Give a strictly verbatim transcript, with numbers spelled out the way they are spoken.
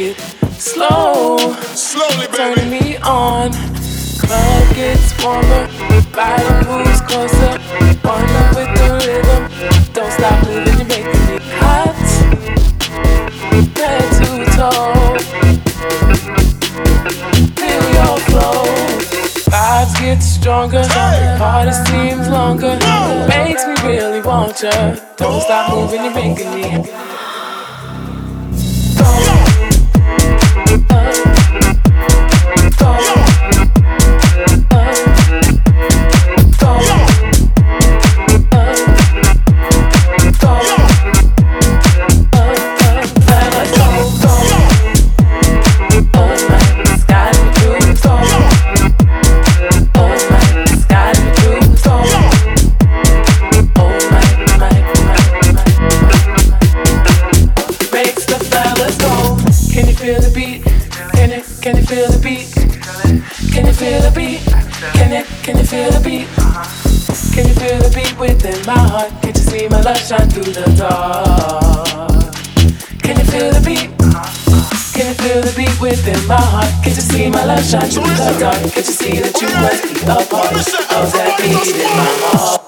it slow, slowly, turning baby. me on. Club gets warmer, body moves closer. Wonder with the rhythm, don't stop moving, you're making me hot. Head to toe, feel your flow. Vibes get stronger, Hey. party seems longer. Whoa. Makes me really want ya. Don't stop moving, you're making me go, uh, go, uh, go, uh, go. Can you feel the beat? Can you feel the beat? Can you, can you feel the beat? Can you feel the beat within my heart? Can't you see my love shine through the dark? Can you feel the beat? Can you feel the beat within my heart? Can't you see my love shine through the dark? Can't you see that you must be a part of that beat in my heart?